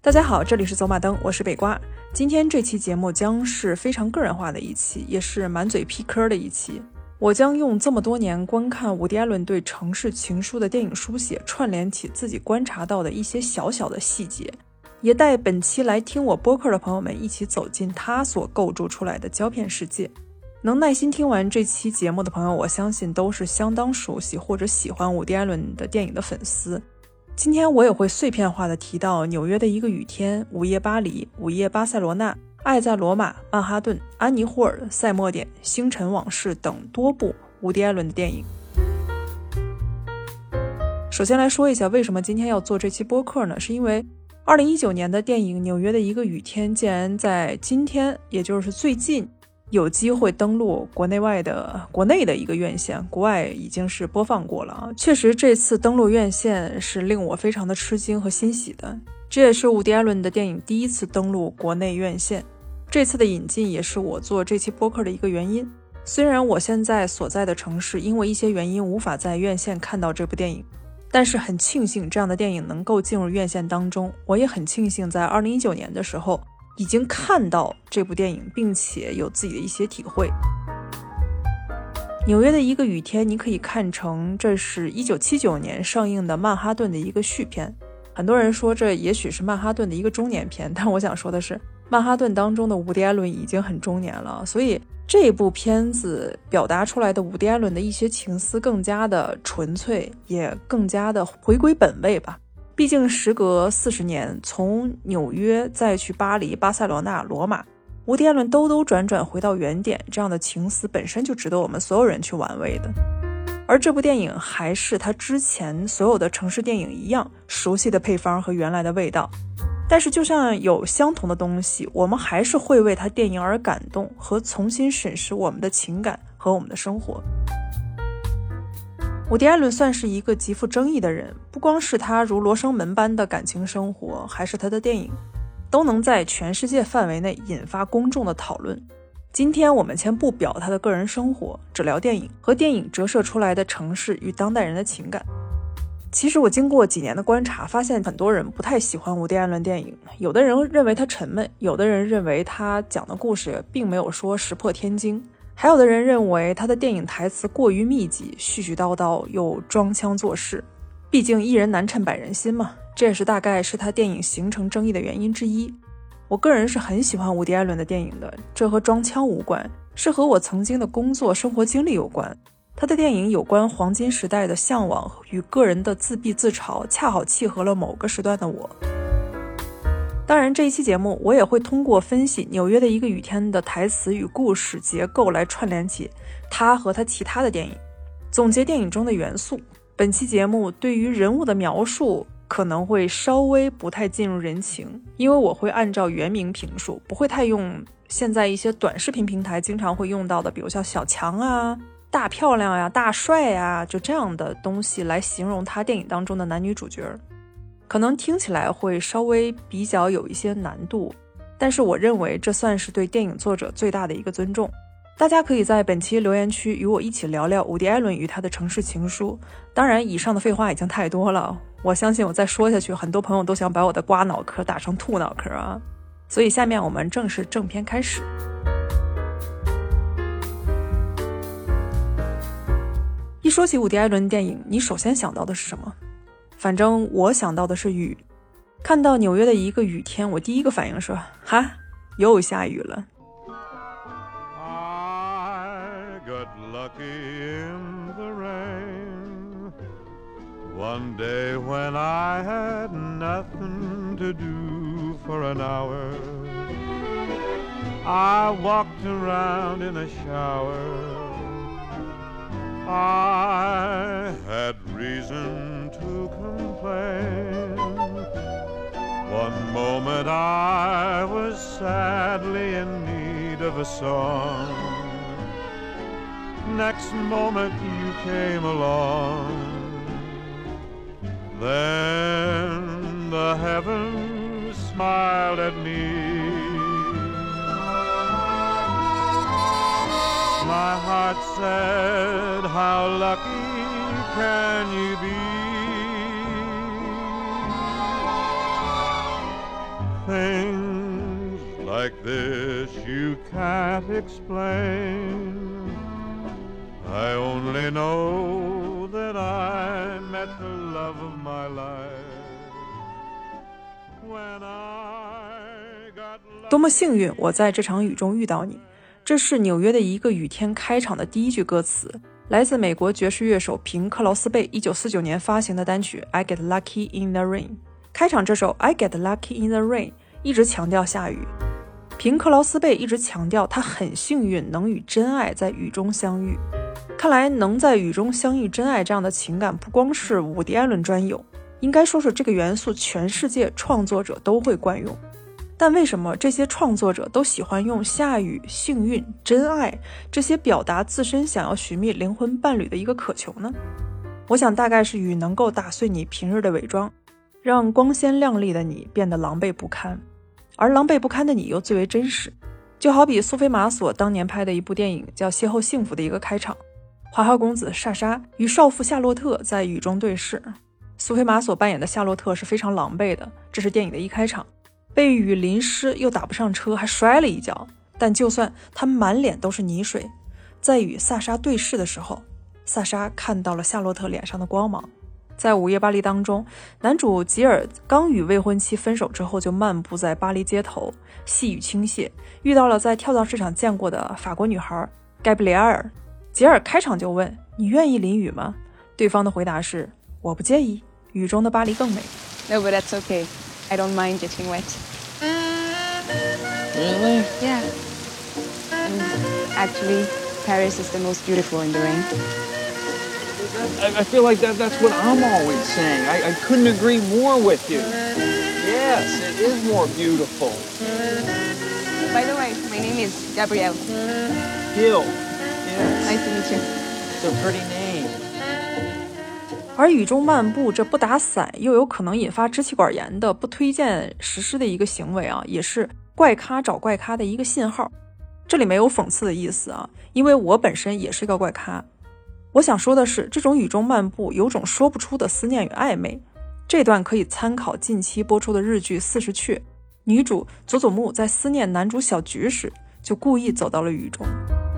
大家好，这里是走马灯，我是北瓜。今天这期节目将是非常个人化的一期，也是满嘴批嗑的一期。我将用这么多年观看伍迪·艾伦对《城市情书》的电影书写，串联起自己观察到的一些小小的细节，也带本期来听我播客的朋友们一起走进他所构筑出来的胶片世界。能耐心听完这期节目的朋友，我相信都是相当熟悉或者喜欢伍迪·艾伦的电影的粉丝。今天我也会碎片化的提到纽约的一个雨天、午夜巴黎、午夜巴塞罗那、爱在罗马、曼哈顿、安妮霍尔、赛末点、星辰往事等多部伍迪·艾伦的电影。首先来说一下为什么今天要做这期播客呢？是因为2019年的电影《纽约的一个雨天》竟然在今天，也就是最近有机会登陆国内的一个院线，国外已经是播放过了啊。确实这次登陆院线是令我非常的吃惊和欣喜的，这也是伍迪·艾伦的电影第一次登陆国内院线。这次的引进也是我做这期播客的一个原因。虽然我现在所在的城市因为一些原因无法在院线看到这部电影，但是很庆幸这样的电影能够进入院线当中。我也很庆幸在2019年的时候已经看到这部电影，并且有自己的一些体会。纽约的一个雨天，你可以看成这是1979年上映的曼哈顿的一个续篇。很多人说这也许是曼哈顿的一个中年片，但我想说的是，曼哈顿当中的伍迪·艾伦已经很中年了，所以这部片子表达出来的伍迪·艾伦的一些情思更加的纯粹，也更加的回归本位吧。毕竟时隔40年，从纽约再去巴黎、巴塞罗那、罗马，伍迪·艾伦兜转转回到原点，这样的情思本身就值得我们所有人去玩味的。而这部电影还是他之前所有的城市电影一样，熟悉的配方和原来的味道。但是就像有相同的东西，我们还是会为他电影而感动，和重新审视我们的情感和我们的生活。伍迪·艾伦算是一个极富争议的人，不光是他如罗生门般的感情生活，还是他的电影都能在全世界范围内引发公众的讨论。今天我们先不表他的个人生活，只聊电影和电影折射出来的城市与当代人的情感。其实我经过几年的观察，发现很多人不太喜欢伍迪·艾伦电影，有的人认为他沉闷，有的人认为他讲的故事并没有说石破天惊，还有的人认为他的电影台词过于密集，絮絮叨叨又装腔作势。毕竟一人难称百人心嘛，这也是大概是他电影形成争议的原因之一。我个人是很喜欢伍迪·艾伦的电影的，这和装腔无关，是和我曾经的工作生活经历有关。他的电影有关黄金时代的向往与个人的自闭自嘲，恰好契合了某个时段的我。当然这一期节目我也会通过分析纽约的一个雨天的台词与故事结构来串联起他和他其他的电影，总结电影中的元素。本期节目对于人物的描述可能会稍微不太进入人情，因为我会按照原名评述，不会太用现在一些短视频平台经常会用到的，比如像小强啊、大漂亮呀、大帅呀，就这样的东西来形容他电影当中的男女主角。可能听起来会稍微比较有一些难度，但是我认为这算是对电影作者最大的一个尊重。大家可以在本期留言区与我一起聊聊伍迪·艾伦与他的城市情书。当然以上的废话已经太多了，我相信我再说下去，很多朋友都想把我的瓜脑壳打成兔脑壳啊！所以下面我们正式正片开始。一说起伍迪·艾伦电影，你首先想到的是什么？反正我想到的是雨。看到纽约的一个雨天，我第一个反应是，哈，又下雨了。 One day when I had nothing to do for an hour, I walked around in a shower. I had reason to complain. One moment I was sadly in need of a song. Next moment you came along.Then the heavens smiled at me. My heart said, how lucky can you be? things like this you can't explain. I only know that I met the love of my life when I got lost. 多么幸运我在这场雨中遇到你，这是纽约的一个雨天开场的第一句歌词，来自美国爵士乐手平克劳斯贝1949年发行的单曲 I Get Lucky in the Rain。 开场这首 I Get Lucky in the Rain 一直强调下雨，平克劳斯贝一直强调他很幸运能与真爱在雨中相遇。看来能在雨中相遇真爱这样的情感不光是伍迪·艾伦专有，应该说是这个元素全世界创作者都会惯用。但为什么这些创作者都喜欢用下雨、幸运、真爱这些表达自身想要寻觅灵魂伴侣的一个渴求呢？我想大概是雨能够打碎你平日的伪装，让光鲜亮丽的你变得狼狈不堪，而狼狈不堪的你又最为真实。就好比苏菲玛索当年拍的一部电影叫《邂逅幸福》的一个开场，花花公子莎莎与少妇夏洛特在雨中对视，苏菲玛索扮演的夏洛特是非常狼狈的，这是电影的一开场，被雨淋湿又打不上车，还摔了一跤，但就算他满脸都是泥水，在与萨莎对视的时候，萨莎看到了夏洛特脸上的光芒。在午夜巴黎当中，男主吉尔刚与未婚妻分手之后，就漫步在巴黎街头，细雨倾泻，遇到了在跳蚤市场见过的法国女孩盖布里埃尔。吉尔开场就问，你愿意淋雨吗？对方的回答是，我不介意，雨中的巴黎更美。 No, but that's okay. I don't mind getting wet. Really? Yeah. Actually, Paris is the most beautiful in the rain. I feel like that's what I'm always saying. I couldn't agree more with you. Yes, it is more beautiful. By the way, my name is Gabrielle. Hill. Yes. Nice to meet you. It's a pretty name. 而雨中漫步这不打伞又有可能引发支气管炎的不推荐实施的一个行为啊，也是怪咖找怪咖的一个信号。这里没有讽刺的意思啊，因为我本身也是个怪咖。我想说的是，这种雨中漫步有种说不出的思念与暧昧。这段可以参考近期播出的日剧《40雀》，女主佐佐木在思念男主小菊时，就故意走到了雨中。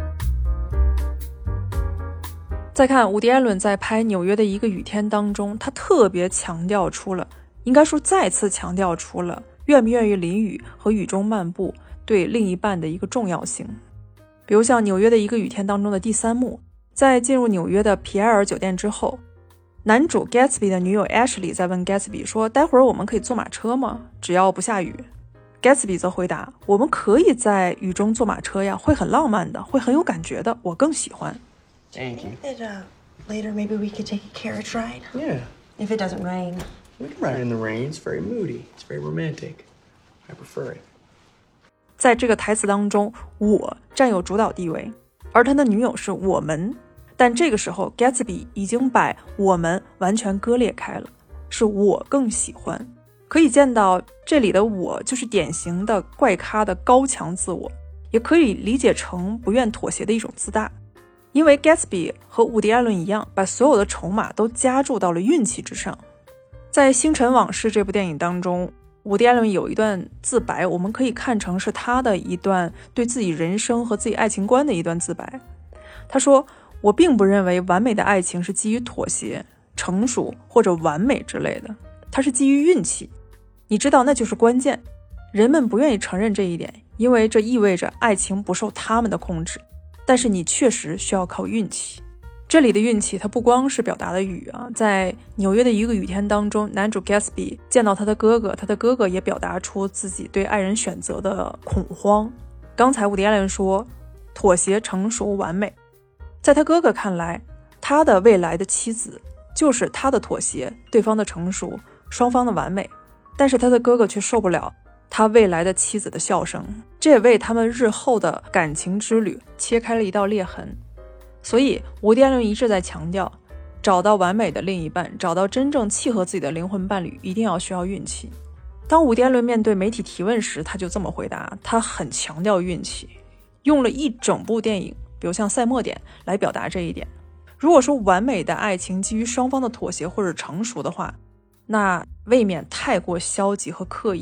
再看伍迪·艾伦在拍纽约的一个雨天当中，他特别强调出了，应该说再次强调出了愿不愿意淋雨和雨中漫步对另一半的一个重要性。比如像纽约的一个雨天当中的第3幕，在进入纽约的皮埃尔酒店之后，男主 Gatsby 的女友 Ashley 在问 Gatsby 说，待会儿我们可以坐马车吗？只要不下雨。 Gatsby 则回答，我们可以在雨中坐马车呀，会很浪漫的，会很有感觉的，我更喜欢。 Thank you. Later, maybe we could take a carriage ride. Yeah. If it doesn't rain. We can ride in the rain. It's very moody. It's very romantic. I prefer it. 在这个台词当中，我占有主导地位，而他的女友是我们。但这个时候 Gatsby 已经把我们完全割裂开了，是我更喜欢。可以见到这里的我就是典型的怪咖的高强自我，也可以理解成不愿妥协的一种自大。因为 Gatsby 和伍迪·艾伦一样，把所有的筹码都加注到了运气之上。在《星辰往事》这部电影当中，伍迪·艾伦有一段自白，我们可以看成是他的一段对自己人生和自己爱情观的一段自白。他说，我并不认为完美的爱情是基于妥协、成熟或者完美之类的，它是基于运气。你知道那就是关键，人们不愿意承认这一点，因为这意味着爱情不受他们的控制，但是你确实需要靠运气。这里的运气它不光是表达的雨啊，在纽约的一个雨天当中，男主 Gatsby 见到他的哥哥，他的哥哥也表达出自己对爱人选择的恐慌。刚才伍迪·艾伦说妥协、成熟、完美，在他哥哥看来，他的未来的妻子就是他的妥协，对方的成熟，双方的完美。但是他的哥哥却受不了他未来的妻子的笑声，这也为他们日后的感情之旅切开了一道裂痕。所以伍迪·艾伦一直在强调，找到完美的另一半，找到真正契合自己的灵魂伴侣，一定要需要运气。当伍迪·艾伦面对媒体提问时，他就这么回答，他很强调运气，用了一整部电影，比如像《赛末点》来表达这一点。如果说完美的爱情基于双方的妥协或者成熟的话，那未免太过消极和刻意了。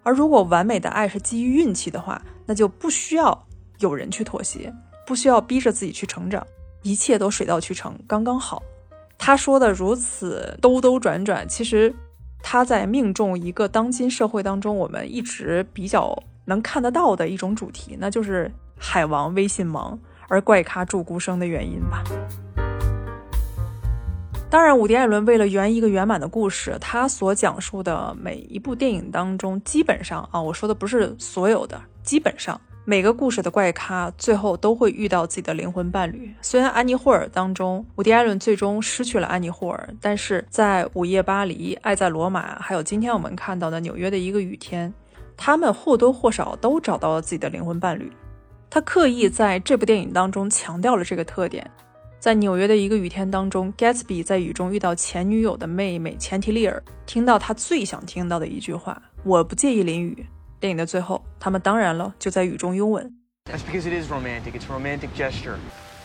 而如果完美的爱是基于运气的话，那就不需要有人去妥协，不需要逼着自己去成长，一切都水到渠成，刚刚好。他说的如此兜兜转转，其实他在命中一个当今社会当中我们一直比较能看得到的一种主题，那就是海王微信忙而怪咖注孤生的原因吧。当然伍迪·艾伦为了圆一个圆满的故事，他所讲述的每一部电影当中，基本上我说的不是所有的，基本上每个故事的怪咖最后都会遇到自己的灵魂伴侣。虽然安妮霍尔当中伍迪·艾伦最终失去了安妮霍尔，但是在午夜巴黎、爱在罗马，还有今天我们看到的纽约的一个雨天，他们或多或少都找到了自己的灵魂伴侣。他刻意在这部电影当中强调了这个特点。在纽约的一个雨天当中， Gatsby 在雨中遇到前女友的妹妹钱提利尔，听到他最想听到的一句话，我不介意淋雨。电影的最后，他们当然了就在雨中拥吻。 That's because it is romantic. It's a romantic gesture.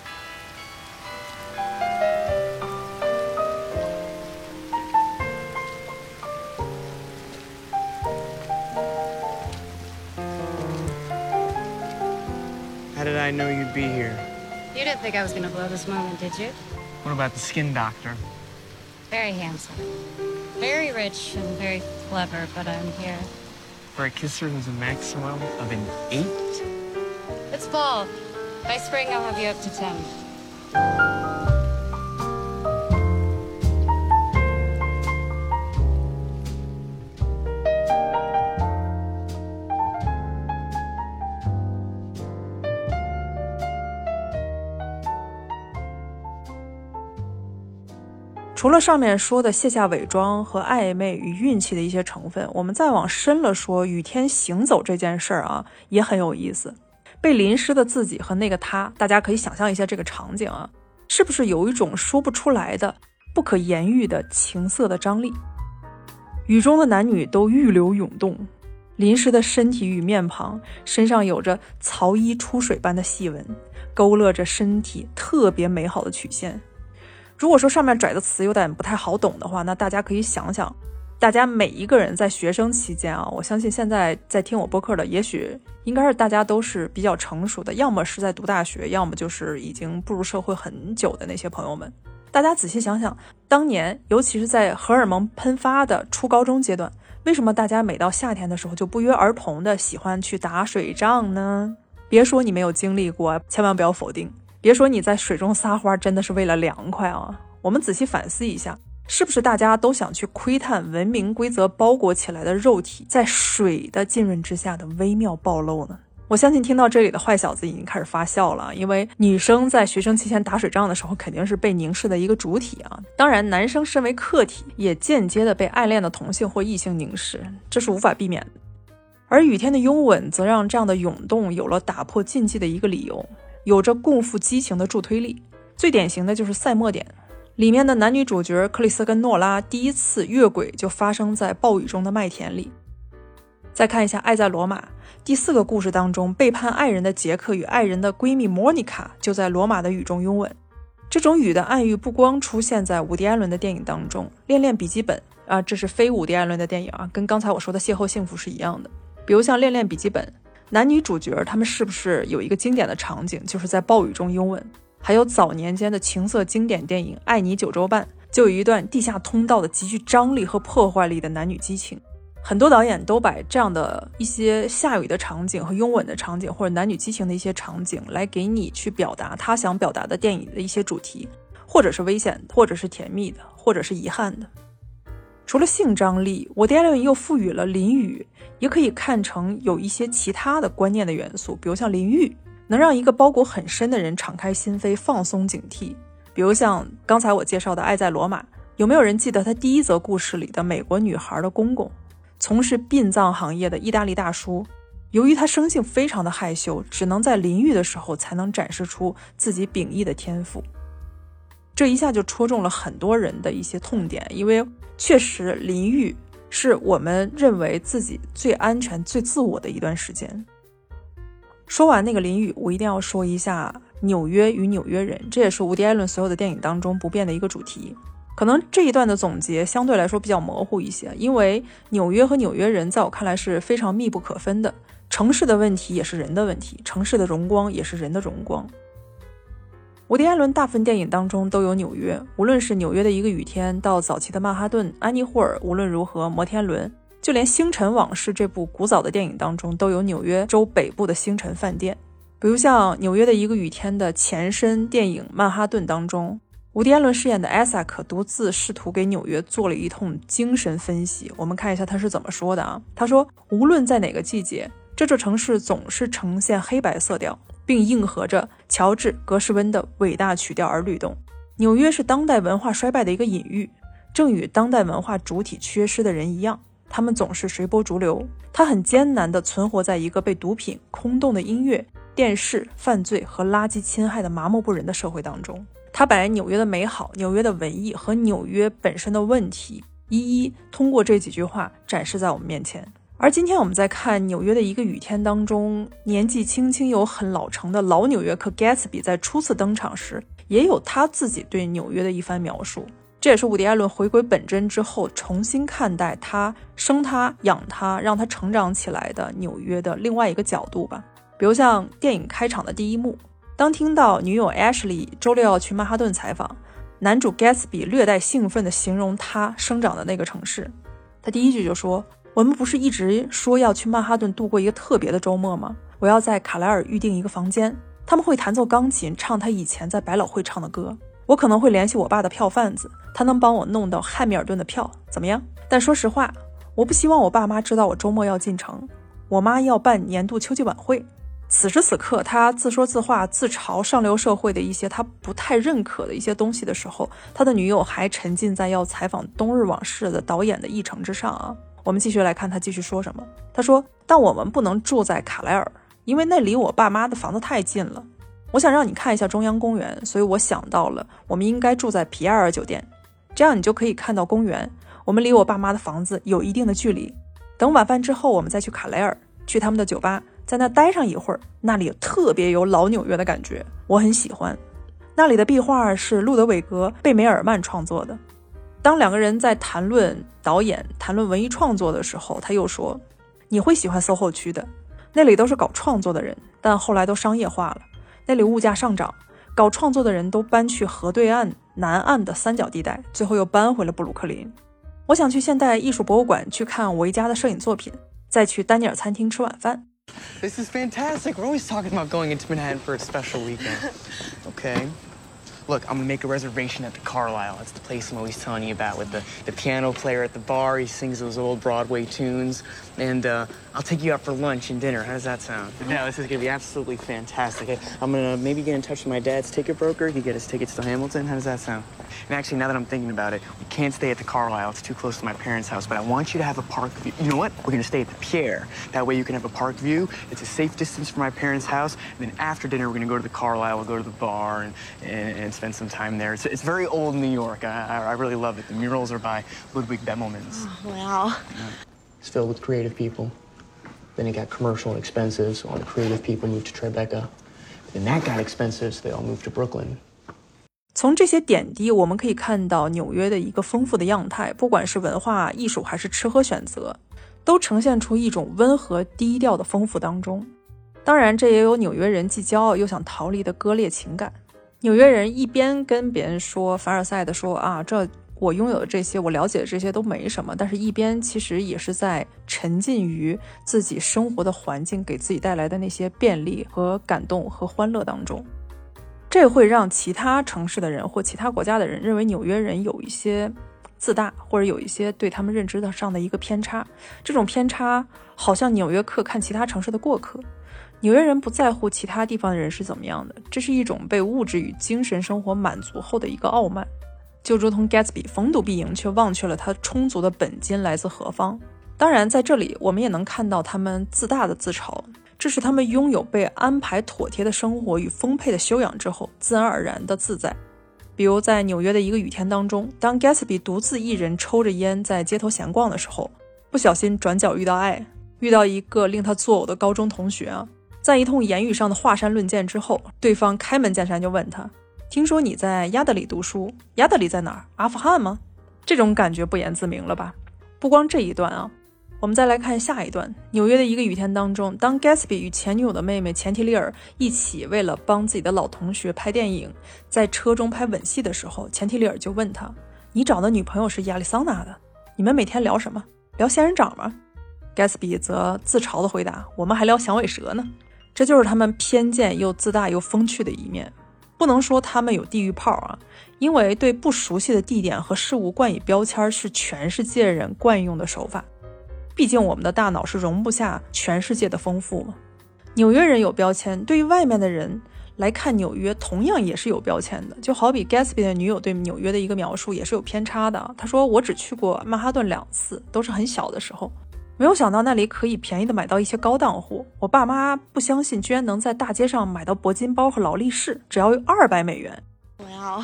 How did I know you'd be here? You didn't think I was going to blow this moment, did you? What about the skin doctor? Very handsome. Very rich and very clever, but I'm here. For a kisser who's a maximum of an 8? It's fall. By spring, I'll have you up to 10. 除了上面说的卸下伪装和暧昧与运气的一些成分，我们再往深了说，雨天行走这件事儿也很有意思。被淋湿的自己和那个他，大家可以想象一下这个场景是不是有一种说不出来的不可言喻的情色的张力？雨中的男女都欲流涌动，淋湿的身体与面庞，身上有着曹衣出水般的细纹，勾勒着身体特别美好的曲线。如果说上面拽的词有点不太好懂的话，那大家可以想想，大家每一个人在学生期间我相信现在在听我播客的也许应该是大家都是比较成熟的，要么是在读大学，要么就是已经步入社会很久的那些朋友们。大家仔细想想，当年尤其是在荷尔蒙喷发的初高中阶段，为什么大家每到夏天的时候就不约而同的喜欢去打水仗呢？别说你没有经历过，千万不要否定。别说你在水中撒欢真的是为了凉快我们仔细反思一下，是不是大家都想去窥探文明规则包裹起来的肉体在水的浸润之下的微妙暴露呢？我相信听到这里的坏小子已经开始发笑了，因为女生在学生期间打水仗的时候肯定是被凝视的一个主体当然男生身为客体也间接的被爱恋的同性或异性凝视，这是无法避免的。而雨天的拥吻则让这样的涌动有了打破禁忌的一个理由，有着共赴激情的助推力。最典型的就是赛末点里面的男女主角克里斯跟诺拉第一次越轨就发生在暴雨中的麦田里。再看一下爱在罗马第4个故事当中，背叛爱人的杰克与爱人的闺蜜莫妮卡就在罗马的雨中拥吻。这种雨的暗喻不光出现在伍迪·艾伦的电影当中，恋恋笔记本这是非伍迪·艾伦的电影跟刚才我说的邂逅幸福是一样的。比如像恋恋笔记本，男女主角他们是不是有一个经典的场景，就是在暴雨中拥吻？还有早年间的情色经典电影《爱你九州半》，就有一段地下通道的极具张力和破坏力的男女激情。很多导演都把这样的一些下雨的场景和拥吻的场景，或者男女激情的一些场景，来给你去表达他想表达的电影的一些主题，或者是危险的，或者是甜蜜的，或者是遗憾的。除了性张力，伍迪·艾伦又赋予了淋雨也可以看成有一些其他的观念的元素，比如像淋浴能让一个包裹很深的人敞开心扉，放松警惕。比如像刚才我介绍的《爱在罗马》，有没有人记得他第一则故事里的美国女孩的公公，从事殡葬行业的意大利大叔，由于他生性非常的害羞，只能在淋浴的时候才能展示出自己秉异的天赋。这一下就戳中了很多人的一些痛点，因为确实淋浴是我们认为自己最安全最自我的一段时间。说完那个淋雨，我一定要说一下纽约与纽约人，这也是伍迪·艾伦所有的电影当中不变的一个主题。 可能这一段的总结相对来说比较模糊一些，因为纽约和纽约人在我看来是非常密不可分的，城市的问题也是人的问题，城市的荣光也是人的荣光。伍迪·艾伦大部分电影当中都有纽约，无论是纽约的一个雨天，到早期的曼哈顿、安妮霍尔，无论如何摩天轮，就连《星辰往事》这部古早的电影当中都有纽约州北部的星辰饭店。比如像纽约的一个雨天的前身电影《曼哈顿》当中，伍迪·艾伦饰演的艾萨克独自试图给纽约做了一通精神分析。我们看一下他是怎么说的啊？他说，无论在哪个季节，这座城市总是呈现黑白色调，并应和着乔治·格什温的伟大曲调而律动。纽约是当代文化衰败的一个隐喻，正与当代文化主体缺失的人一样，他们总是随波逐流。他很艰难地存活在一个被毒品、空洞的音乐、电视、犯罪和垃圾侵害的麻木不仁的社会当中。他把纽约的美好、纽约的文艺和纽约本身的问题一一通过这几句话展示在我们面前。而今天我们在看纽约的一个雨天当中，年纪轻轻又很老成的老纽约客 Gatsby 在初次登场时，也有他自己对纽约的一番描述。这也是伍迪·艾伦回归本真之后重新看待他生他养他让他成长起来的纽约的另外一个角度吧。比如像电影开场的第一幕，当听到女友 Ashley 周六要去曼哈顿采访，男主 Gatsby 略带兴奋地形容他生长的那个城市。他第一句就说，我们不是一直说要去曼哈顿度过一个特别的周末吗？我要在卡莱尔预定一个房间，他们会弹奏钢琴，唱他以前在百老汇唱的歌。我可能会联系我爸的票贩子，他能帮我弄到汉密尔顿的票，怎么样？但说实话，我不希望我爸妈知道我周末要进城，我妈要办年度秋季晚会。此时此刻，他自说自话，自嘲上流社会的一些他不太认可的一些东西的时候，他的女友还沉浸在要采访《冬日往事》的导演的议程之上啊。我们继续来看他继续说什么。他说，但我们不能住在卡莱尔，因为那离我爸妈的房子太近了。我想让你看一下中央公园，所以我想到了我们应该住在皮埃尔酒店，这样你就可以看到公园，我们离我爸妈的房子有一定的距离。等晚饭之后，我们再去卡莱尔，去他们的酒吧，在那待上一会儿，那里特别有老纽约的感觉，我很喜欢。那里的壁画是路德维格·贝梅尔曼创作的。当两个人在谈论导演、谈论文艺创作的时候，他又说，你会喜欢 SoHo 区的，那里都是搞创作的人，但后来都商业化了，那里物价上涨，搞创作的人都搬去河对岸南岸的三角地带，最后又搬回了布鲁克林。我想去现代艺术博物馆去看维嘉的摄影作品，再去丹尼尔餐厅吃晚饭。 This is fantastic. We're always talking about going into Manhattan for a special weekend. Okay. Look, I'm gonna make a reservation at the Carlisle. That's the place I'm always telling you about with the piano player at the bar. He sings those old Broadway tunes. And I'll take you out for lunch and dinner. How does that sound? Yeah, this is gonna be absolutely fantastic. I'm gonna maybe get in touch with my dad's ticket broker. He get his tickets to Hamilton. How does that sound? And actually, now that I'm thinking about it, we can't stay at the Carlisle. It's too close to my parents' house. But I want you to have a park view. You know what? We're gonna stay at the Pierre. That way you can have a park view. It's a safe distance from my parents' house. And then after dinner, we're gonna go to the Carlisle. We'll go to the bar and spend some time there. It's very old New York. I really love it. The murals are by Ludwig Bemelmans. Oh, wow. Yeah. It's filled with creative people. Then it got commercial and expensive, so all the creative people moved to Tribeca. Then that got expensive, so they all moved to Brooklyn. 从这些点滴，我们可以看到纽约的一个丰富的样态，不管是文化、艺术还是吃喝选择，都呈现出一种温和低调的丰富当中。当然，这也有纽约人既骄傲又想逃离的割裂情感。纽约人一边跟别人说凡尔赛的说啊，这我拥有的这些，我了解的这些都没什么，但是一边其实也是在沉浸于自己生活的环境给自己带来的那些便利和感动和欢乐当中。这会让其他城市的人或其他国家的人认为纽约人有一些自大，或者有一些对他们认知上的一个偏差。这种偏差好像纽约客看其他城市的过客，纽约人不在乎其他地方的人是怎么样的，这是一种被物质与精神生活满足后的一个傲慢，就如同 Gatsby 逢赌必赢，却忘却了他充足的本金来自何方。当然在这里我们也能看到他们自大的自嘲，这是他们拥有被安排妥帖的生活与丰沛的修养之后自然而然的自在。比如在纽约的一个雨天当中，当 Gatsby 独自一人抽着烟在街头闲逛的时候，不小心转角遇到爱，遇到一个令他作呕的高中同学啊。在一通言语上的华山论剑之后，对方开门见山就问他， 听说你在亚德里读书，亚德里在哪儿？阿富汗吗？这种感觉不言自明了吧。不光这一段啊，我们再来看下一段。纽约的一个雨天当中，当 Gatsby 与前女友的妹妹钱提利尔一起为了帮自己的老同学拍电影，在车中拍吻戏的时候，钱提利尔就问他，你找的女朋友是亚利桑那的，你们每天聊什么？聊仙人掌吗？ Gatsby 则自嘲地回答，我们还聊响尾蛇呢。这就是他们偏见又自大又风趣的一面。不能说他们有地域炮啊，因为对不熟悉的地点和事物冠以标签是全世界人惯用的手法。毕竟我们的大脑是容不下全世界的丰富嘛。纽约人有标签，对于外面的人来看纽约同样也是有标签的。就好比 Gatsby 的女友对纽约的一个描述也是有偏差的。他说，我只去过曼哈顿2次，都是很小的时候，没有想到那里可以便宜的买到一些高档货。我爸妈不相信居然能在大街上买到铂金包和劳力士，只要200美元。 Well,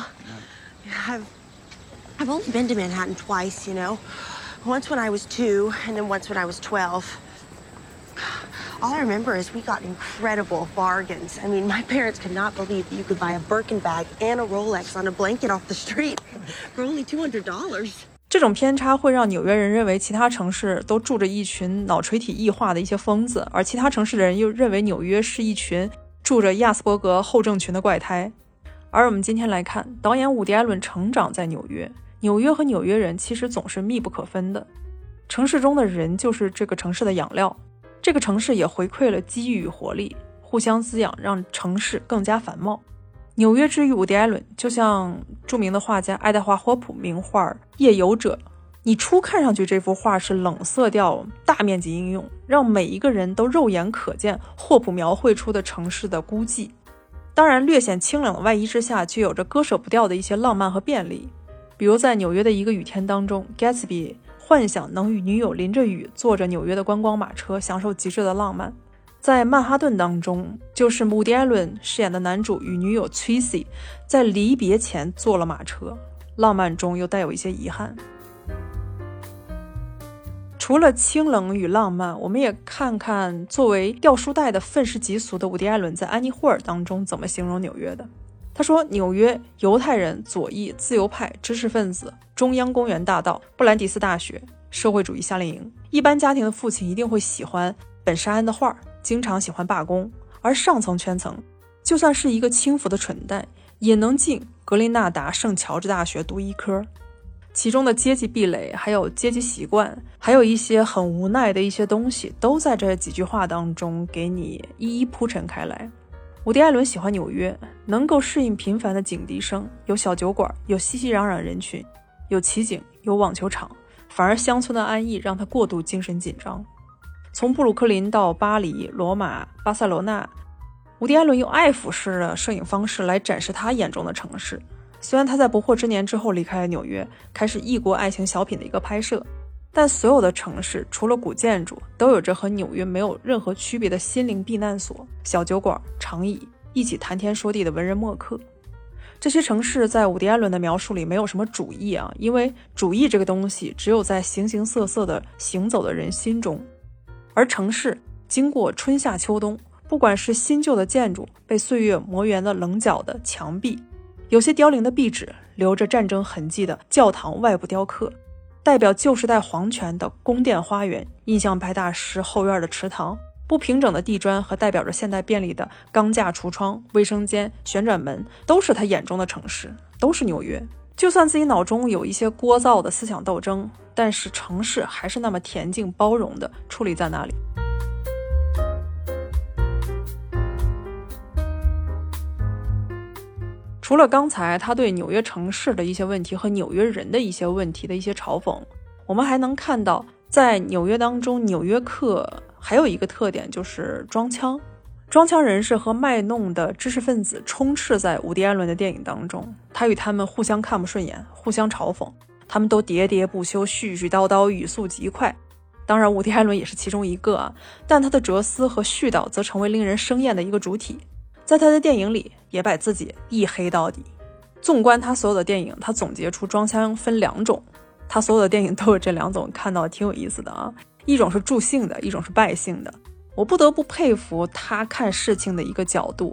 I've only been to Manhattan twice, you know. Once when I was 2, and then once when I was 12. All I remember is we got incredible bargains. I mean, my parents could not believe that you could buy a Birkin bag and a Rolex on a blanket off the street for only $200. 这种偏差会让纽约人认为其他城市都住着一群脑垂体异化的一些疯子，而其他城市的人又认为纽约是一群住着亚斯伯格后症群的怪胎。而我们今天来看，导演伍迪·艾伦成长在纽约，纽约和纽约人其实总是密不可分的。城市中的人就是这个城市的养料，这个城市也回馈了机遇与活力，互相滋养，让城市更加繁茂。纽约之于伍迪·艾伦，就像著名的画家爱德华·霍普名画《夜游者》，你初看上去这幅画是冷色调大面积应用，让每一个人都肉眼可见霍普描绘出的城市的孤寂。当然略显清冷的外衣之下，却有着割舍不掉的一些浪漫和便利。比如在纽约的一个雨天当中， Gatsby 幻想能与女友淋着雨，坐着纽约的观光马车，享受极致的浪漫。在曼哈顿当中，就是伍迪·艾伦饰演的男主与女友 Tracy 在离别前坐了马车，浪漫中又带有一些遗憾。除了清冷与浪漫，我们也看看作为掉书袋的愤世嫉俗的伍迪·艾伦在《安妮·霍尔》当中怎么形容纽约的。他说，纽约犹太人、左翼、自由派、知识分子、中央公园大道、布兰迪斯大学、社会主义夏令营，一般家庭的父亲一定会喜欢本沙恩的画，经常喜欢罢工，而上层圈层就算是一个轻浮的蠢蛋，也能进格林纳达圣乔治大学读医科。其中的阶级壁垒，还有阶级习惯，还有一些很无奈的一些东西，都在这几句话当中给你一一铺陈开来。伍迪·艾伦喜欢纽约，能够适应频繁的警笛声，有小酒馆，有熙熙攘攘人群，有骑警，有网球场，反而乡村的安逸让他过度精神紧张。从布鲁克林到巴黎、罗马、巴塞罗那，伍迪·艾伦用爱抚式的摄影方式来展示他眼中的城市。虽然他在不惑之年之后离开了纽约，开始异国爱情小品的一个拍摄，但所有的城市除了古建筑，都有着和纽约没有任何区别的心灵避难所、小酒馆、长椅，一起谈天说地的文人墨客。这些城市在伍迪·艾伦的描述里没有什么主义啊，因为主义这个东西只有在形形色色的行走的人心中。而城市经过春夏秋冬，不管是新旧的建筑，被岁月磨圆的棱角的墙壁，有些凋零的壁纸，留着战争痕迹的教堂外部雕刻，代表旧时代皇权的宫殿花园，印象派大师后院的池塘，不平整的地砖和代表着现代便利的钢架橱窗、卫生间、旋转门，都是他眼中的城市，都是纽约。就算自己脑中有一些聒噪的思想斗争，但是城市还是那么恬静包容的矗立在那里。除了刚才他对纽约城市的一些问题和纽约人的一些问题的一些嘲讽，我们还能看到在纽约当中，纽约客还有一个特点，就是装腔。装腔人士和卖弄的知识分子充斥在伍迪·艾伦的电影当中，他与他们互相看不顺眼，互相嘲讽，他们都喋喋不休，絮絮叨叨，语速极快。当然伍迪·艾伦也是其中一个啊，但他的哲思和絮叨则成为令人生厌的一个主体，在他的电影里也把自己一黑到底。纵观他所有的电影，他总结出装腔分2种，他所有的电影都有这2种，看到挺有意思的啊。一种是助兴的，一种是败兴的。我不得不佩服他看事情的一个角度，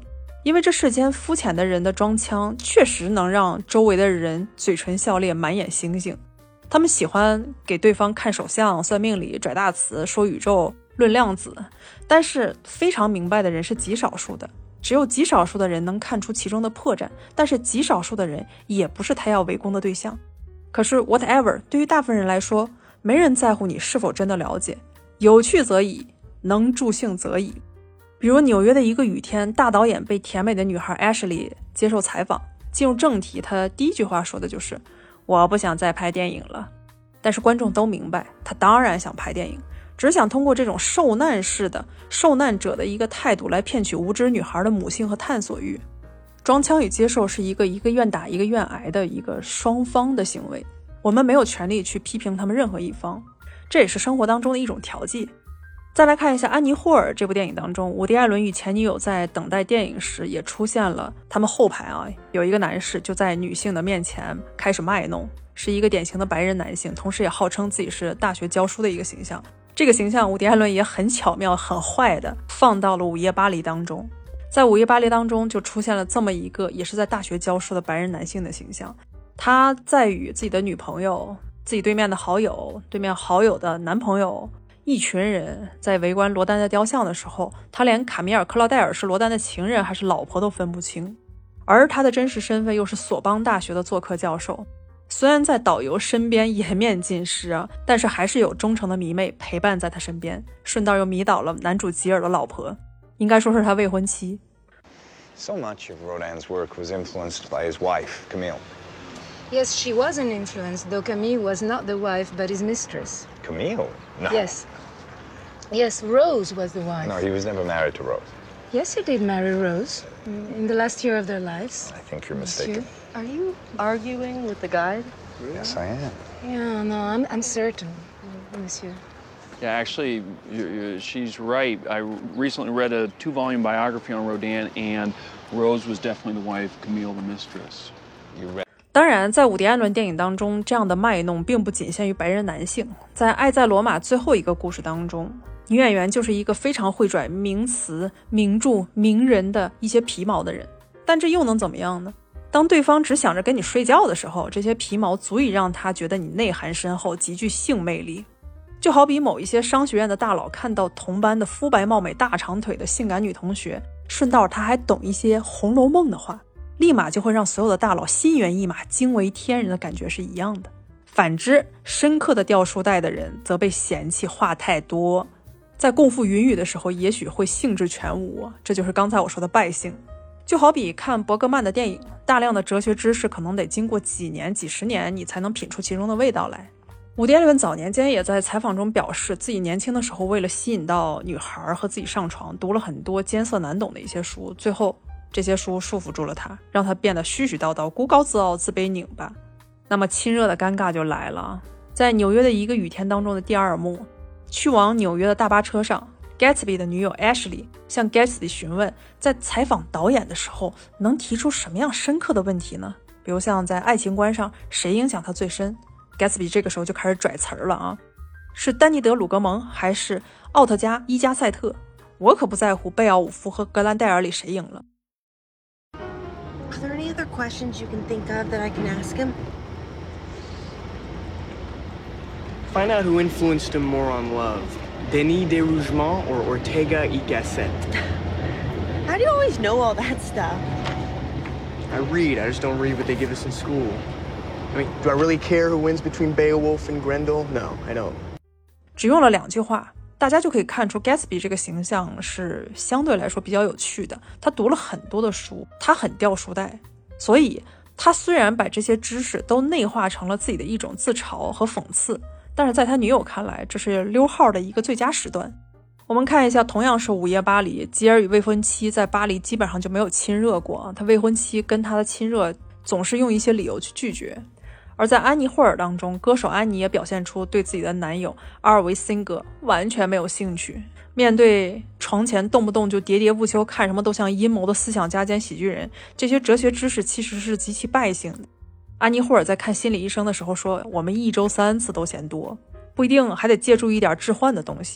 因为这世间肤浅的人的装腔确实能让周围的人嘴唇笑裂，满眼星星。他们喜欢给对方看手相、算命理、拽大词、说宇宙、论量子，但是非常明白的人是极少数的，只有极少数的人能看出其中的破绽，但是极少数的人也不是他要围攻的对象。可是 whatever 对于大部分人来说，没人在乎你是否真的了解，有趣则已，能助兴则已。比如纽约的一个雨天，大导演被甜美的女孩 Ashley 接受采访，进入正题，他第一句话说的就是我不想再拍电影了。但是观众都明白，他当然想拍电影，只想通过这种受难式的受难者的一个态度来骗取无知女孩的母性和探索欲。装腔与接受是一个愿打一个愿挨的一个双方的行为，我们没有权利去批评他们任何一方，这也是生活当中的一种调剂。再来看一下《安妮霍尔》这部电影当中，伍迪·艾伦与前女友在等待电影时也出现了，他们后排有一个男士就在女性的面前开始卖弄，是一个典型的白人男性，同时也号称自己是大学教书的一个形象。这个形象伍迪·艾伦也很巧妙很坏的放到了《午夜巴黎》当中。在《午夜巴黎》当中就出现了这么一个也是在大学教书的白人男性的形象，他在与自己的女朋友、自己对面的好友、对面好友的男朋友一群人在围观罗丹的雕像的时候，他连卡米尔·克劳戴尔是罗丹的情人还是老婆都分不清，而他的真实身份又是索邦大学的做客教授。虽然在导游身边颜面尽失但是还是有忠诚的迷妹陪伴在他身边，顺道又迷倒了男主吉尔的老婆，应该说是他未婚妻。 So much of Rodin's work was influenced by his wife, Camille. Yes, she was an influence, though Camille was not the wife, but his mistress. Camille? No. Yes, Rose was the wife. No, he was never married to Rose. Yes, he did marry Rose in the last year of their lives. I think you're mistaken. Are you arguing with the guide? Yes, I am. Yeah, no, I'm certain, monsieur. Yeah, actually, she's right. I recently read a 2-volume biography on Rodin, and Rose was definitely the wife, Camille the mistress. You read. 当然在伍迪·艾伦电影当中，这样的卖弄并不仅限于白人男性。在《爱在罗马》最后一个故事当中，女演员就是一个非常会拽名词、名著、名人的一些皮毛的人，但这又能怎么样呢？当对方只想着跟你睡觉的时候，这些皮毛足以让他觉得你内涵深厚，极具性魅力。就好比某一些商学院的大佬看到同班的肤白貌美大长腿的性感女同学，顺道他还懂一些《红楼梦》的话，立马就会让所有的大佬心猿意马、惊为天人的感觉是一样的。反之，深刻的掉书袋的人则被嫌弃话太多，在共赴云雨的时候也许会兴致全无，这就是刚才我说的败兴。就好比看伯格曼的电影，大量的哲学知识可能得经过几年几十年你才能品出其中的味道来。伍迪·艾伦早年间也在采访中表示，自己年轻的时候为了吸引到女孩和自己上床，读了很多艰涩难懂的一些书，最后这些书束缚住了他，让他变得絮絮叨叨、孤高自傲、自卑拧巴。那么亲热的尴尬就来了。在纽约的一个雨天当中的第二幕，去往纽约的大巴车上， Gatsby 的女友 Ashley 向 Gatsby 询问，在采访导演的时候能提出什么样深刻的问题呢？比如像在爱情观上谁影响他最深， Gatsby 这个时候就开始拽词儿了是丹尼德·鲁格蒙还是奥特加·伊加塞特？我可不在乎贝奥武夫和格兰戴尔里谁赢了。 Are there any other questions you can think of that I can ask him? Find out who influenced him more on love, Denis de Rougemont or Ortega y Gasset. How do you always know all that stuff? I read, I just don't read what they give us in school. I mean, do I really care who wins between Beowulf and Grendel? No, I don't. 只用了2句话，大家就可以看出 Gatsby 这个形象是相对来说比较有趣的。他读了很多的书，他很掉书袋，所以他虽然把这些知识都内化成了自己的一种自嘲和讽刺，但是在他女友看来，这是溜号的一个最佳时段。我们看一下，同样是午夜巴黎，吉尔与未婚妻在巴黎基本上就没有亲热过，他未婚妻跟他的亲热总是用一些理由去拒绝。而在安妮霍尔当中，歌手安妮也表现出对自己的男友阿尔维辛格完全没有兴趣。面对床前动不动就喋喋不休，看什么都像阴谋的思想家兼喜剧人，这些哲学知识其实是极其败兴的。安妮霍尔在看心理医生的时候说，我们1周3次都嫌多，不一定还得借助一点置换的东西。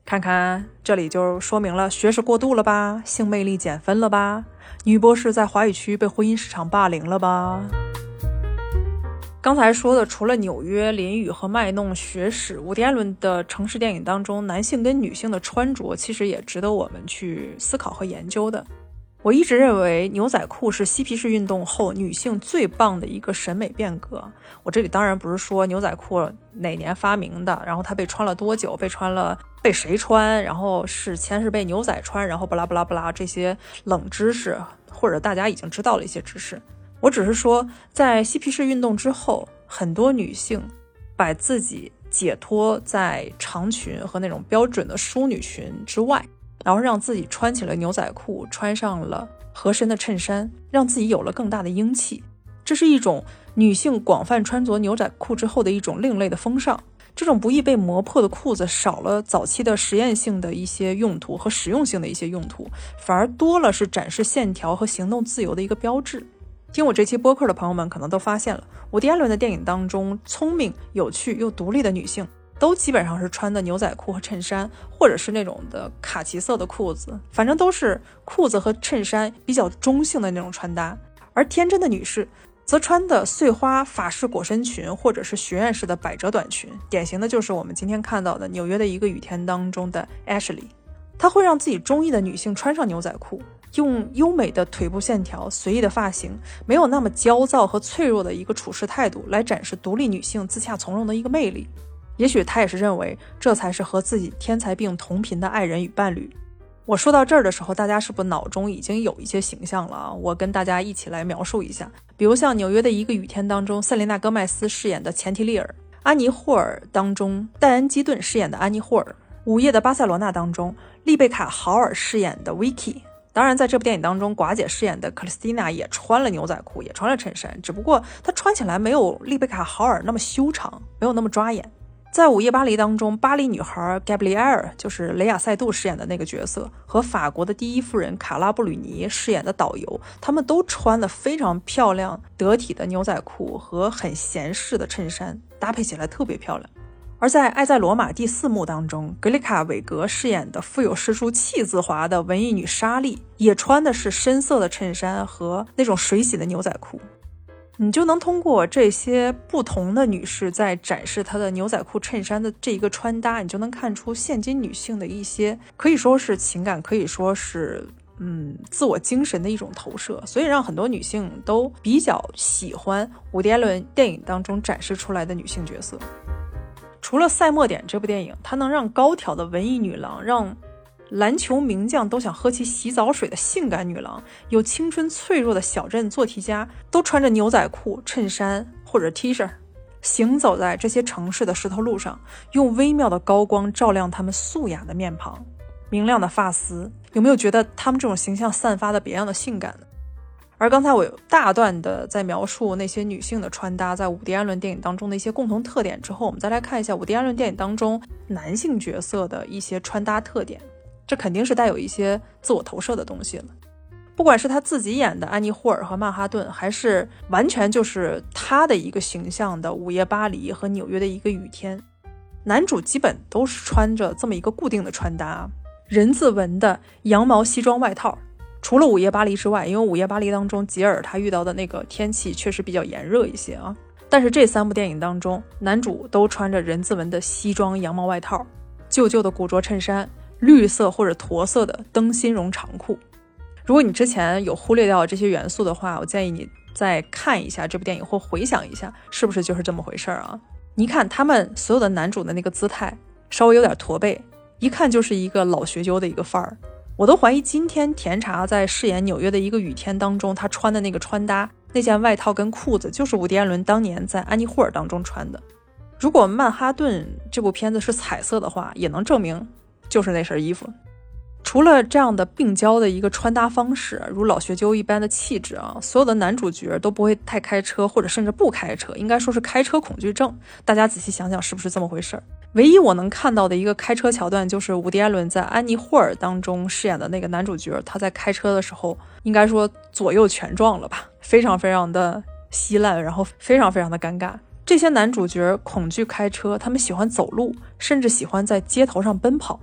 看看这里就说明了学识过度了吧，性魅力减分了吧，女博士在华语区被婚姻市场霸凌了吧。刚才说的除了纽约、淋雨和卖弄学史，伍迪·艾伦的城市电影当中，男性跟女性的穿着其实也值得我们去思考和研究的。我一直认为牛仔裤是嬉皮士运动后女性最棒的一个审美变革。我这里当然不是说牛仔裤哪年发明的，然后它被穿了多久，被谁穿，然后先是被牛仔穿，然后不拉不拉不拉这些冷知识，或者大家已经知道了一些知识。我只是说，在嬉皮士运动之后，很多女性把自己解脱在长裙和那种标准的淑女裙之外，然后让自己穿起了牛仔裤，穿上了合身的衬衫，让自己有了更大的英气。这是一种女性广泛穿着牛仔裤之后的一种另类的风尚。这种不易被磨破的裤子少了早期的实验性的一些用途和实用性的一些用途，反而多了是展示线条和行动自由的一个标志。听我这期播客的朋友们可能都发现了，伍迪·艾伦的电影当中，聪明、有趣又独立的女性都基本上是穿的牛仔裤和衬衫，或者是那种的卡其色的裤子，反正都是裤子和衬衫比较中性的那种穿搭。而天真的女士则穿的碎花法式裹身裙，或者是学院式的百褶短裙，典型的就是我们今天看到的纽约的一个雨天当中的 Ashley。 她会让自己中意的女性穿上牛仔裤，用优美的腿部线条、随意的发型，没有那么焦躁和脆弱的一个处事态度，来展示独立女性自洽从容的一个魅力。也许她也是认为这才是和自己天才病同频的爱人与伴侣。我说到这儿的时候，大家是不是脑中已经有一些形象了啊？我跟大家一起来描述一下。比如像纽约的一个雨天当中，塞琳娜·戈麦斯饰演的钱提利尔，安妮·霍尔当中，戴恩·基顿饰演的安妮·霍尔，午夜的巴塞罗那当中，丽贝卡·豪尔饰演的 Vicky。当然在这部电影当中，寡姐饰演的克里斯蒂娜也穿了牛仔裤，也穿了衬衫，只不过她穿起来没有丽贝卡·豪尔那么修长，没有那么抓眼。在午夜巴黎当中，巴黎女孩 Gabrielle 就是雷亚塞杜饰演的那个角色，和法国的第一夫人卡拉布吕尼饰演的导游，他们都穿了非常漂亮得体的牛仔裤和很闲适的衬衫，搭配起来特别漂亮。而在《爱在罗马》第4幕当中，格里卡·韦格饰演的富有诗书气自华的文艺女莎莉，也穿的是深色的衬衫和那种水洗的牛仔裤。你就能通过这些不同的女士在展示她的牛仔裤衬衫的这一个穿搭，你就能看出现今女性的一些可以说是情感，可以说是自我精神的一种投射，所以让很多女性都比较喜欢伍迪·艾伦电影当中展示出来的女性角色。除了《赛末点》这部电影，它能让高挑的文艺女郎，让篮球名将都想喝其洗澡水的性感女郎，有青春脆弱的小镇做题家，都穿着牛仔裤、衬衫或者 T 恤，行走在这些城市的石头路上，用微妙的高光照亮他们素雅的面庞、明亮的发丝。有没有觉得他们这种形象散发的别样的性感呢？而刚才我有大段的在描述那些女性的穿搭在伍迪·艾伦电影当中的一些共同特点之后，我们再来看一下伍迪·艾伦电影当中男性角色的一些穿搭特点。这肯定是带有一些自我投射的东西了。不管是他自己演的安妮·霍尔和曼哈顿，还是完全就是他的一个形象的午夜巴黎和纽约的一个雨天，男主基本都是穿着这么一个固定的穿搭，人字纹的羊毛西装外套。除了午夜巴黎之外，因为午夜巴黎当中吉尔他遇到的那个天气确实比较炎热一些啊，但是这3部电影当中，男主都穿着人字纹的西装羊毛外套，旧旧的古着衬衫，绿色或者驼色的灯芯绒长裤。如果你之前有忽略掉这些元素的话，我建议你再看一下这部电影，或回想一下是不是就是这么回事啊。你看他们所有的男主的那个姿态稍微有点驼背，一看就是一个老学究的一个范儿。我都怀疑今天甜茶在饰演纽约的一个雨天当中，他穿的那个穿搭，那件外套跟裤子就是伍迪·艾伦当年在安妮·霍尔当中穿的。如果曼哈顿这部片子是彩色的话，也能证明就是那身衣服。除了这样的病娇的一个穿搭方式，如老学究一般的气质啊，所有的男主角都不会太开车，或者甚至不开车，应该说是开车恐惧症。大家仔细想想是不是这么回事？唯一我能看到的一个开车桥段，就是伍迪·艾伦在安妮·霍尔当中饰演的那个男主角，他在开车的时候应该说左右全撞了吧，非常非常的稀烂，然后非常非常的尴尬。这些男主角恐惧开车，他们喜欢走路，甚至喜欢在街头上奔跑。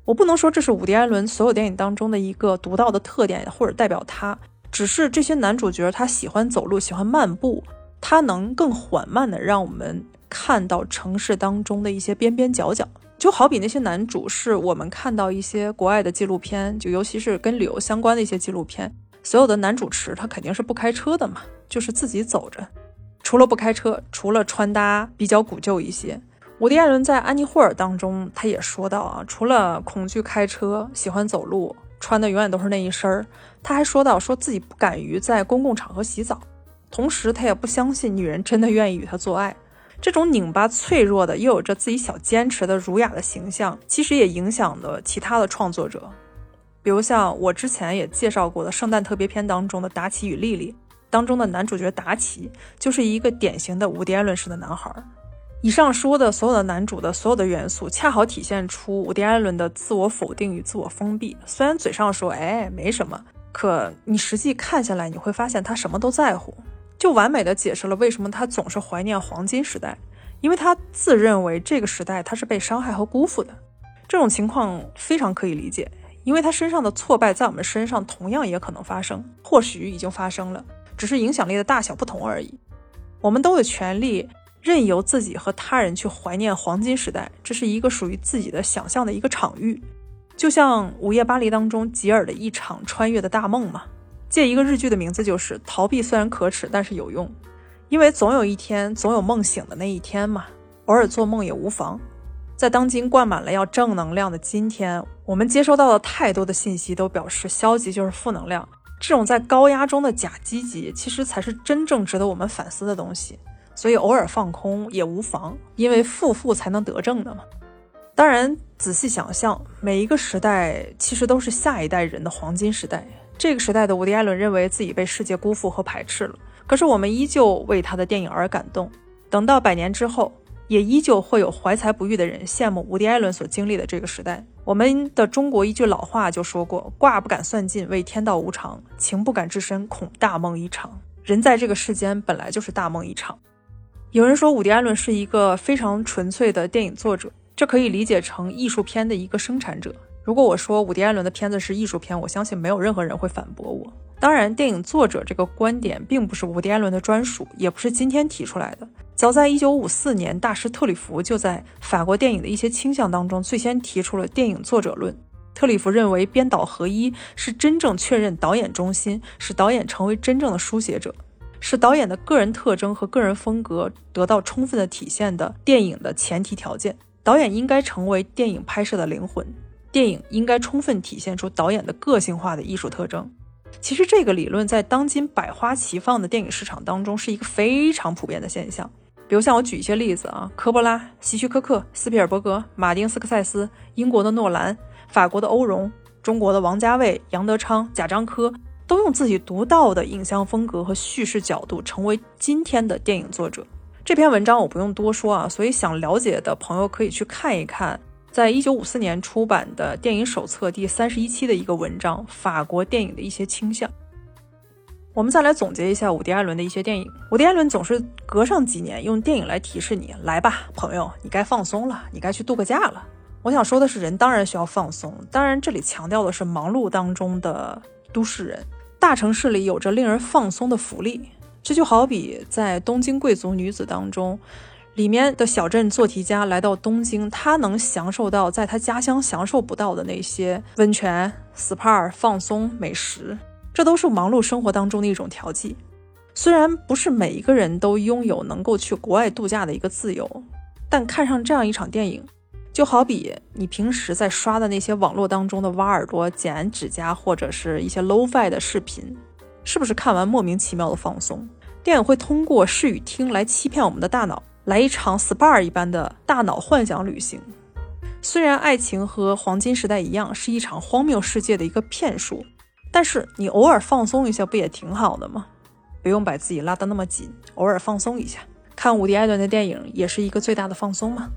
我不能说这是伍迪·艾伦所有电影当中的一个独到的特点或者代表他，只是这些男主角他喜欢走路，喜欢漫步，他能更缓慢的让我们看到城市当中的一些边边角角。就好比那些男主是我们看到一些国外的纪录片，就尤其是跟旅游相关的一些纪录片，所有的男主持他肯定是不开车的嘛，就是自己走着，除了不开车，除了穿搭比较古旧一些。伍迪·艾伦在《安妮·霍尔》当中他也说到啊，除了恐惧开车，喜欢走路，穿的永远都是那一身，他还说到说自己不敢于在公共场合洗澡，同时他也不相信女人真的愿意与他做爱。这种拧巴脆弱的又有着自己小坚持的儒雅的形象，其实也影响了其他的创作者，比如像我之前也介绍过的圣诞特别篇当中的达奇与莉莉，当中的男主角达奇就是一个典型的伍迪·艾伦式的男孩。以上说的所有的男主的所有的元素恰好体现出伍迪·艾伦的自我否定与自我封闭，虽然嘴上说没什么，可你实际看下来你会发现他什么都在乎，就完美的解释了为什么他总是怀念黄金时代，因为他自认为这个时代他是被伤害和辜负的。这种情况非常可以理解，因为他身上的挫败在我们身上同样也可能发生，或许已经发生了，只是影响力的大小不同而已。我们都有权利任由自己和他人去怀念黄金时代，这是一个属于自己的想象的一个场域，就像《午夜巴黎》当中吉尔的一场穿越的大梦嘛。借一个日剧的名字就是逃避虽然可耻但是有用，因为总有一天，总有梦醒的那一天嘛，偶尔做梦也无妨。在当今灌满了要正能量的今天，我们接收到的太多的信息都表示消极就是负能量，这种在高压中的假积极其实才是真正值得我们反思的东西，所以偶尔放空也无妨，因为负才能得正的嘛。当然仔细想象，每一个时代其实都是下一代人的黄金时代，这个时代的伍迪·艾伦认为自己被世界辜负和排斥了，可是我们依旧为他的电影而感动，等到100年之后也依旧会有怀才不遇的人羡慕伍迪·艾伦所经历的这个时代。我们的中国一句老话就说过，卦不敢算尽为天道无常，情不敢至深恐大梦一场。人在这个世间本来就是大梦一场。有人说伍迪·艾伦是一个非常纯粹的电影作者，这可以理解成艺术片的一个生产者。如果我说伍迪·艾伦的片子是艺术片，我相信没有任何人会反驳我。当然电影作者这个观点并不是伍迪·艾伦的专属，也不是今天提出来的，早在1954年，大师特里弗就在法国电影的一些倾向当中最先提出了电影作者论。特里弗认为编导合一是真正确认导演中心，使导演成为真正的书写者，使导演的个人特征和个人风格得到充分的体现的电影的前提条件。导演应该成为电影拍摄的灵魂，电影应该充分体现出导演的个性化的艺术特征。其实这个理论在当今百花齐放的电影市场当中是一个非常普遍的现象。比如像我举一些例子啊，科波拉、希区柯克、斯皮尔伯格、马丁斯科塞斯、英国的诺兰、法国的欧容、中国的王家卫、杨德昌、贾樟柯，都用自己独到的影像风格和叙事角度成为今天的电影作者。这篇文章我不用多说啊，所以想了解的朋友可以去看一看在1954年出版的电影手册第31期的一个文章，法国电影的一些倾向。我们再来总结一下伍迪·艾伦的一些电影。伍迪·艾伦总是隔上几年用电影来提示你，来吧朋友，你该放松了，你该去度个假了。我想说的是，人当然需要放松，当然这里强调的是忙碌当中的都市人。大城市里有着令人放松的福利，这就好比在东京贵族女子当中，里面的小镇做题家来到东京，他能享受到在他家乡享受不到的那些温泉、SPA、放松、美食，这都是忙碌生活当中的一种调剂。虽然不是每一个人都拥有能够去国外度假的一个自由，但看上这样一场电影，就好比你平时在刷的那些网络当中的挖耳朵、剪指甲或者是一些 low-fi 的视频，是不是看完莫名其妙的放松？电影会通过视与听来欺骗我们的大脑，来一场 SPA 一般的大脑幻想旅行。虽然爱情和黄金时代一样是一场荒谬世界的一个骗术，但是你偶尔放松一下不也挺好的吗？不用把自己拉得那么紧，偶尔放松一下，看伍迪·艾伦的电影也是一个最大的放松嘛。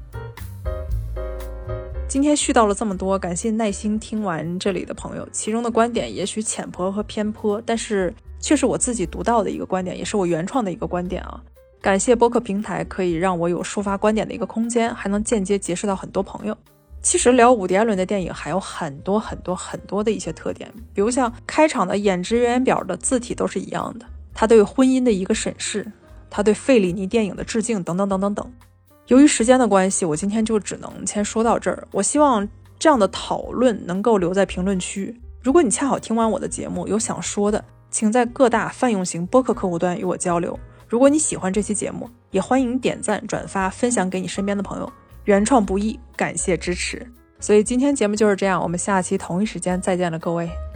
今天絮叨了这么多，感谢耐心听完这里的朋友，其中的观点也许浅薄和偏颇，但是却是我自己独到的一个观点，也是我原创的一个观点啊。感谢播客平台可以让我有抒发观点的一个空间，还能间接结识到很多朋友。 其实聊伍迪·艾伦的电影还有很多的一些特点，比如像开场的演职员表的字体都是一样的，他对婚姻的一个审视，他对费里尼电影的致敬等等等等等。由于时间的关系，我今天就只能先说到这儿。我希望这样的讨论能够留在评论区。如果你恰好听完我的节目有想说的，请在各大泛用型播客客户端与我交流。如果你喜欢这期节目，也欢迎点赞、转发、分享给你身边的朋友。原创不易，感谢支持。所以今天节目就是这样，我们下期同一时间再见了，各位。